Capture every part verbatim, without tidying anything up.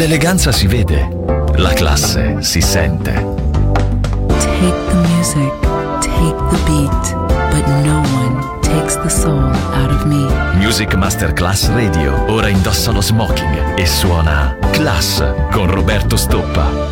L'eleganza si vede, la classe si sente. Take the music, take the beat, but no one takes the soul out of me. Music Masterclass Radio, ora indossa lo smoking e suona Class con Roberto Stoppa.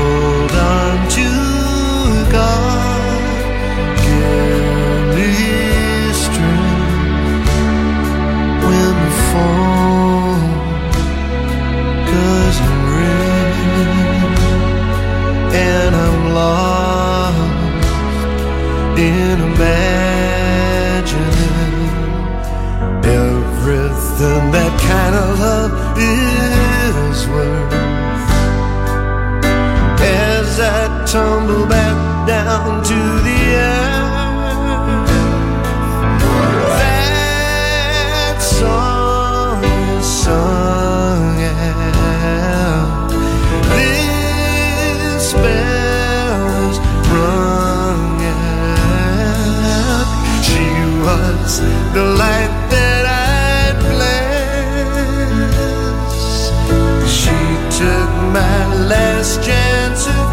Give me down to the earth. That song is sung out. This bell is rung out. She was the light that I'd bless. She took my last chance of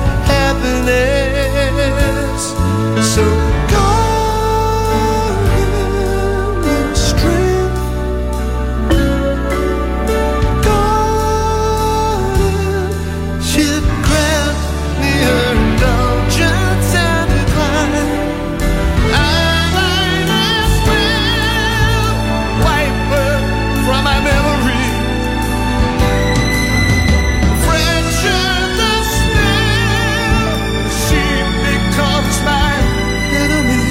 happiness. So God give me strength. God, she'd grant me her indulgence and decline. I might as well wipe her from my memory. Fracture the spell, she becomes my enemy.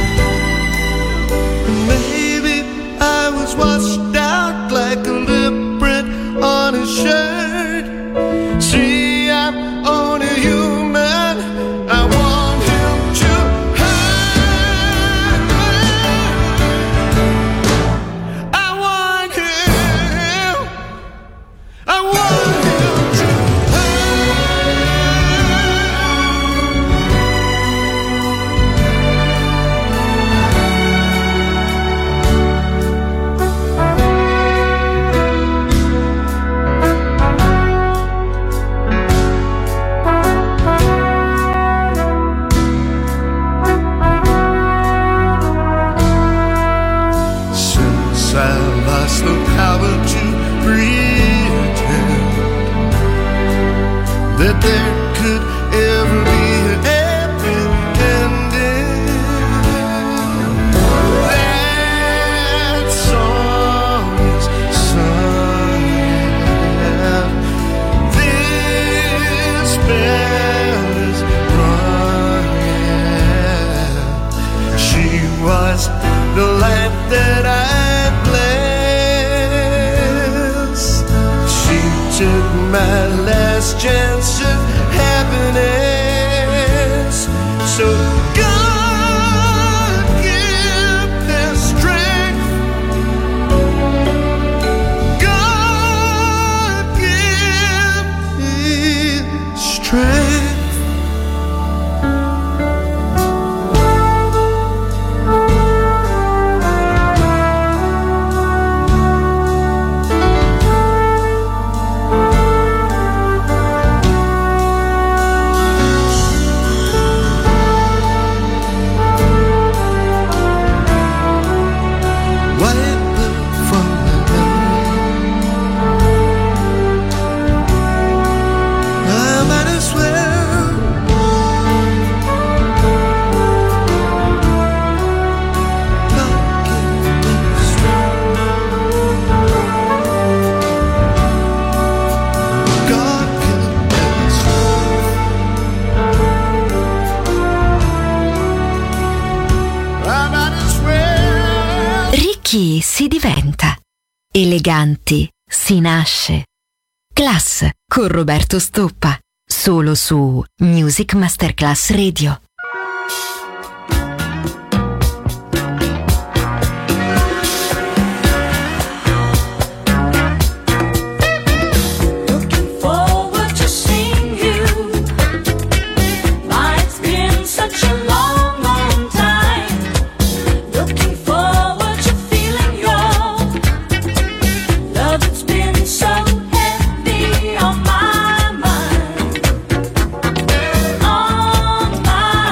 Maybe I was washed out like a lip print on a shirt. See, I'm only human. I want him to hurt. I want him. I want him to Since I lost the power to pretend that there could ever be a happy ending. That song is sung out. This bell is rung out. She was the light that I bless. She took my last chance of happiness. So God give their strength. God give me strength. Ricchi si diventa, eleganti si nasce. Class con Roberto Stoppa, solo su Music Masterclass Radio. On my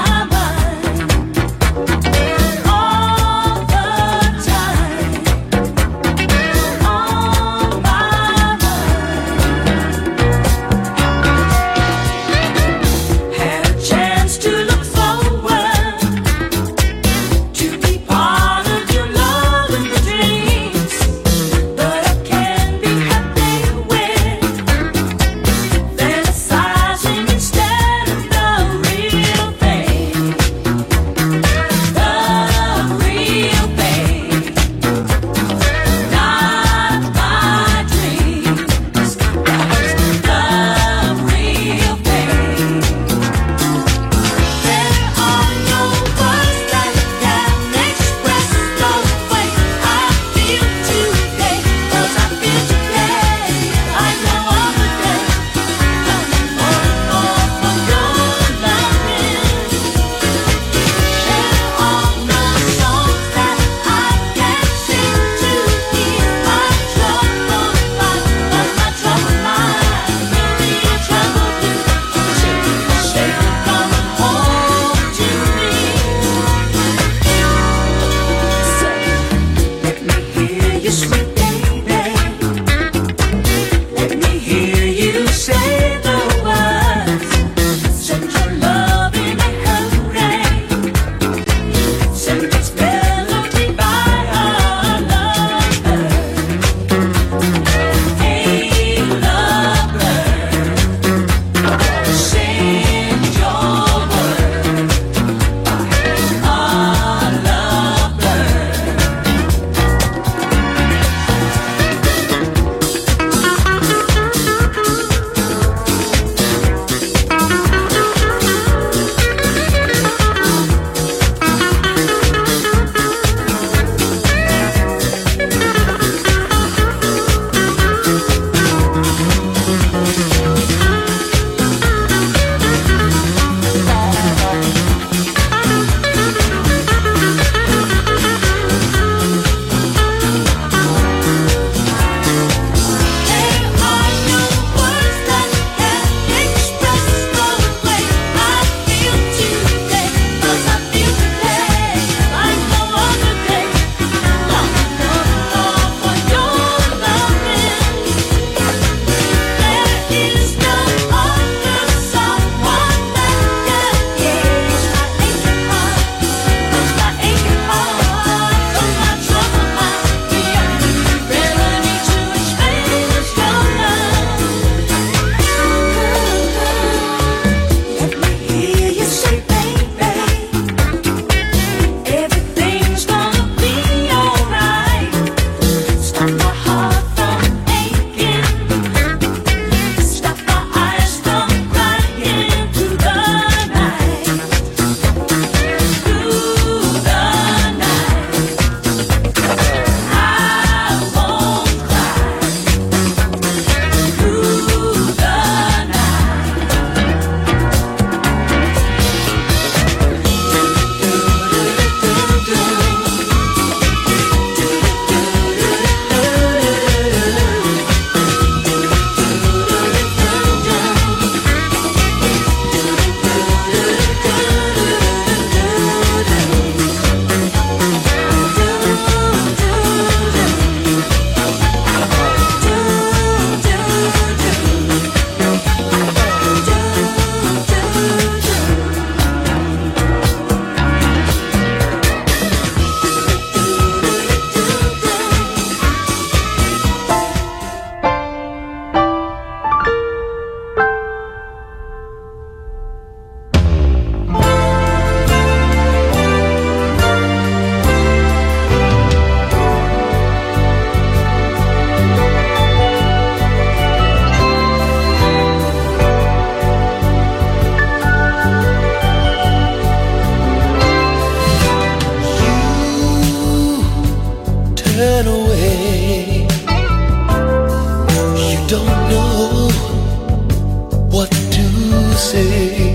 what to say,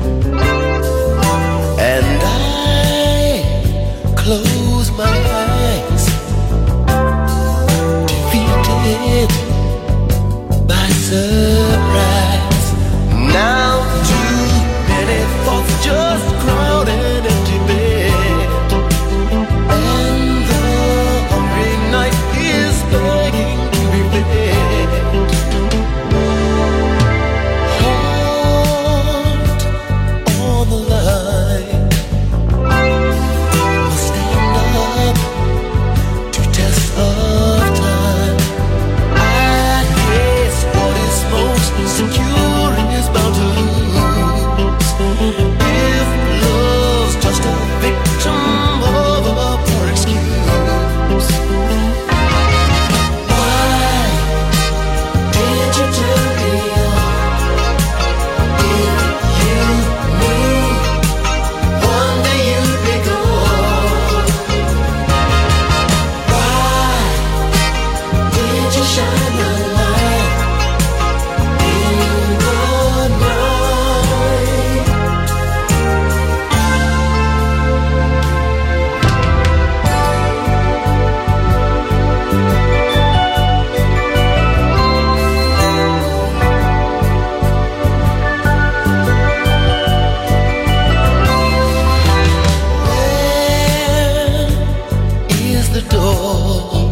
and I close my eyes, defeated by surprise. Now too many thoughts just crowd an empty bed, and the hungry night is begging to be fed. Heart on the line, must stand up to test of time. I guess what is most secure is bound to lose if love's just a victim of a poor excuse. Why did you turn me on if you knew one day you'd be gone? Why did you shine the light in the night? Where is the door?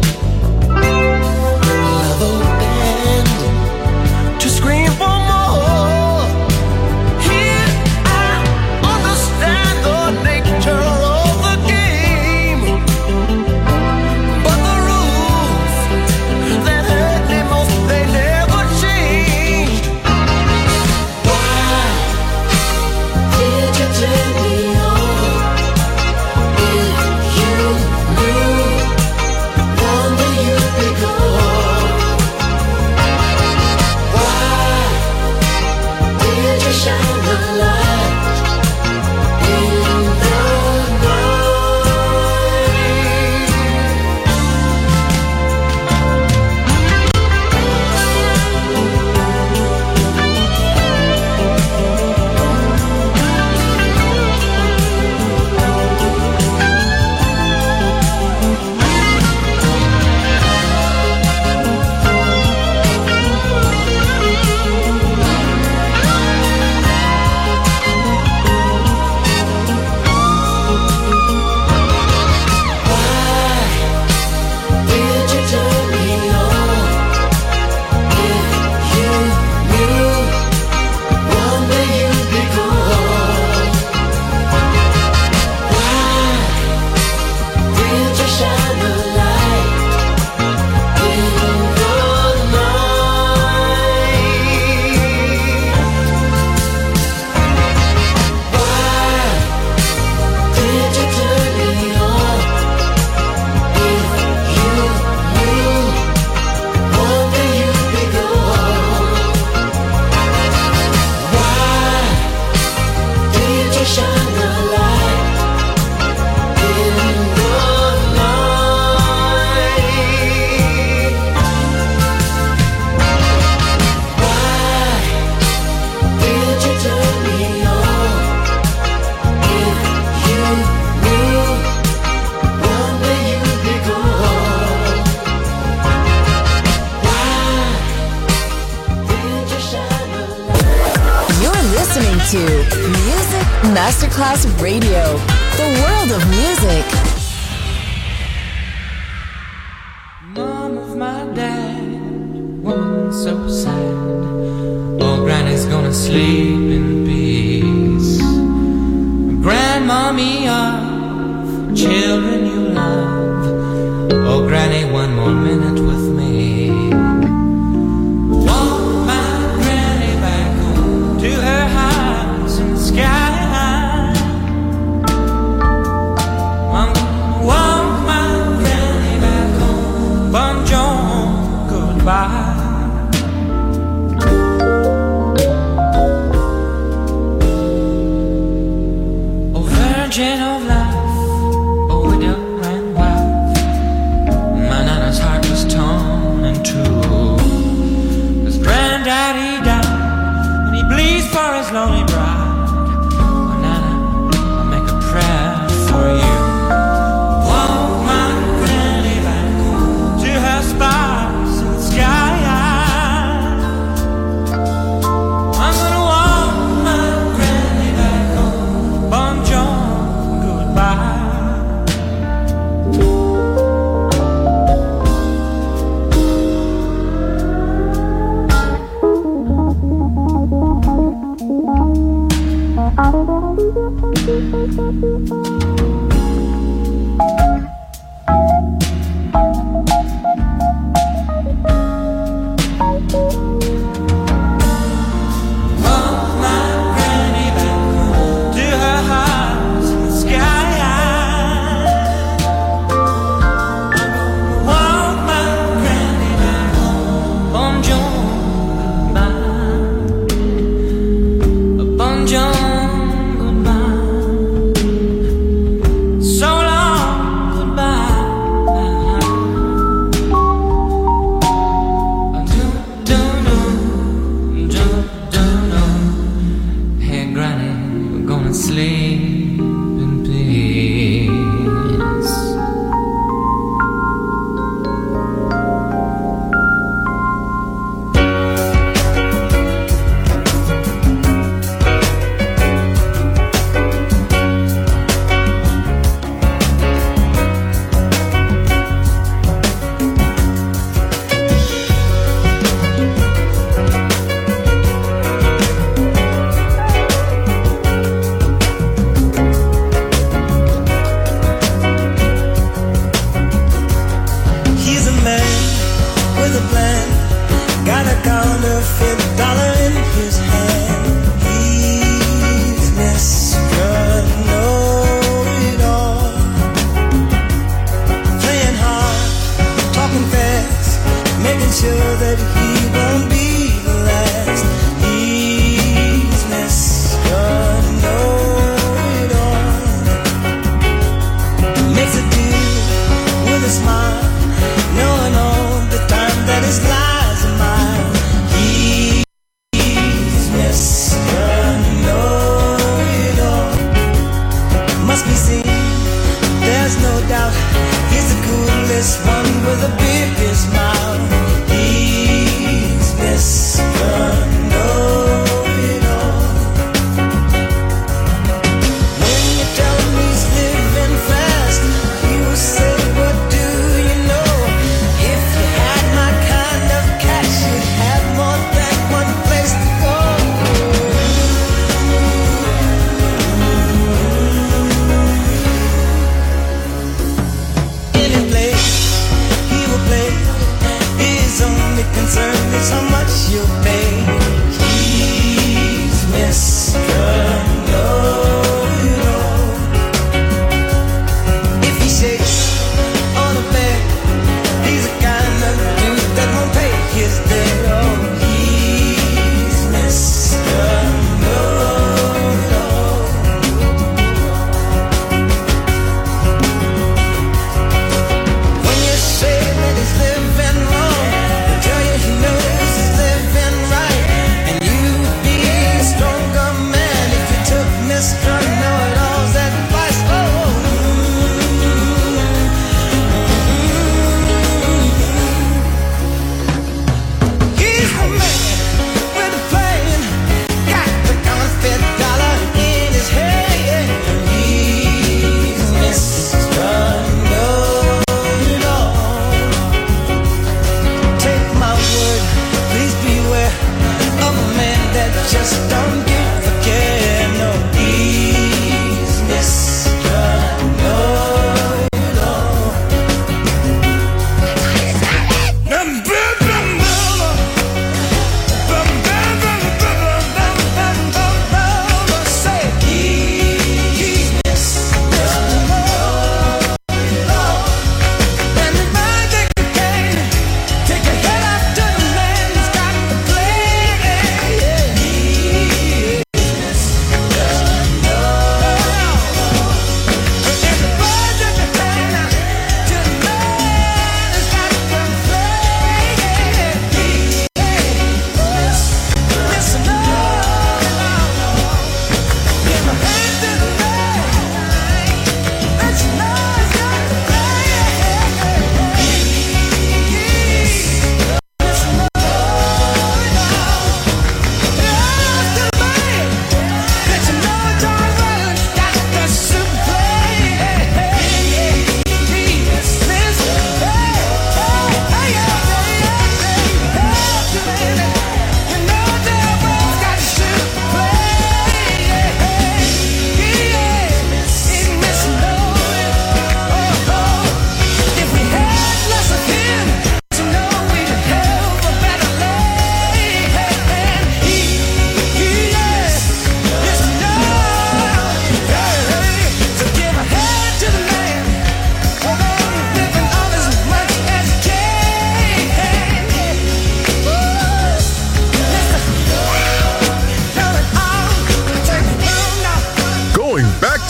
Love opened to scream for more. Here I understand the nature of the game, but the rules that hurt me most, they never changed. Why did you turn me on if you knew one day you'd be gone? Why did you shine the light in the night? Did you turn me on if you knew one day you'd be gone? Why did you shine the light in the night? Why did you turn me on if you knew one day you'd be gone? Why did you shine the light in the night? Why did you turn me on if you knew one day you'd be gone? Why did you shine the light? You're listening to Music Masterclass Radio, the world of music. Mom of my dad, woman so sad. Oh, Granny's gonna sleep in peace. Grandmommy of children you love. Oh, Granny, one more minute with me. Want my Granny back home to her house in the sky. I'm gonna want my Granny back home. Bonjour, goodbye. Oh, virgin of life, oh, widow and wife. My Nana's heart was Mama's lonely bride. Oh, Nana, I make a prayer for you. Walk my granny back to her spots in the sky. I'm gonna walk my granny back home. Bonjour, goodbye.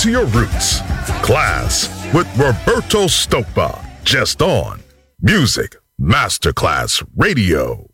to your roots. Class with Roberto Stoppa. Just on Music Masterclass Radio.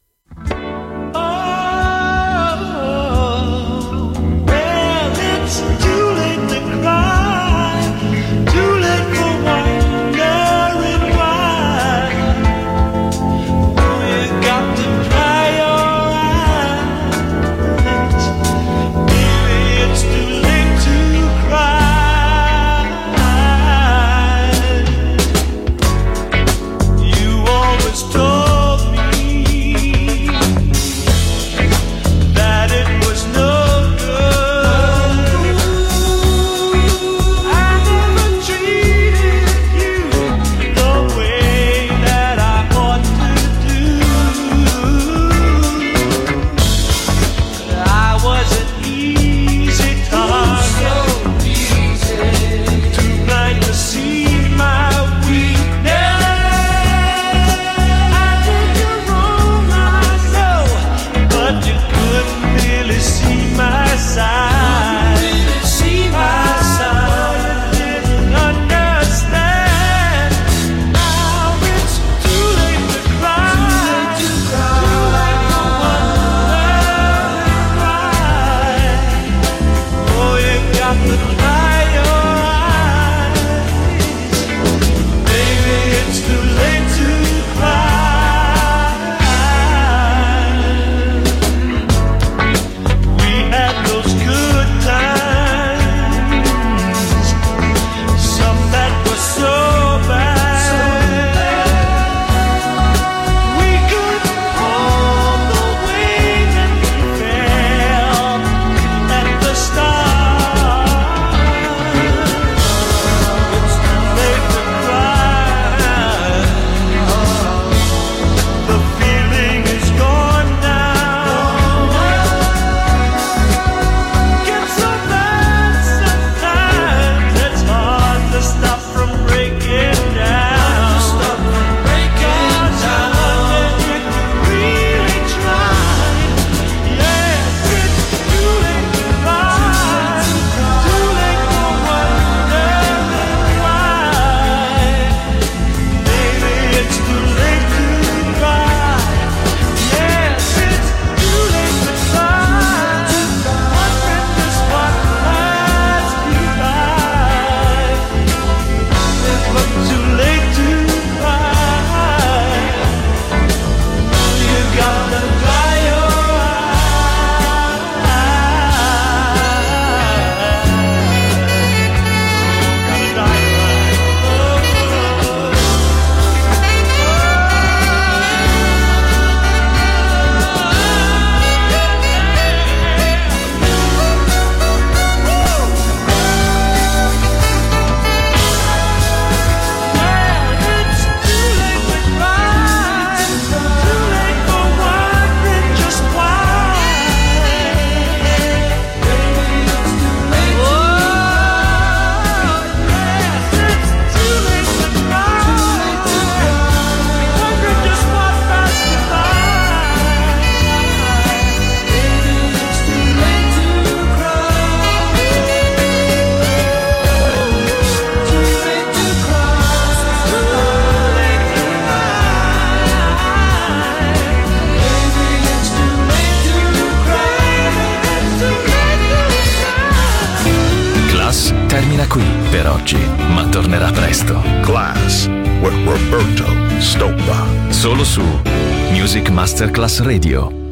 Qui per oggi, ma tornerà presto. Class with Roberto Stoppa. Solo su Music Masterclass Radio.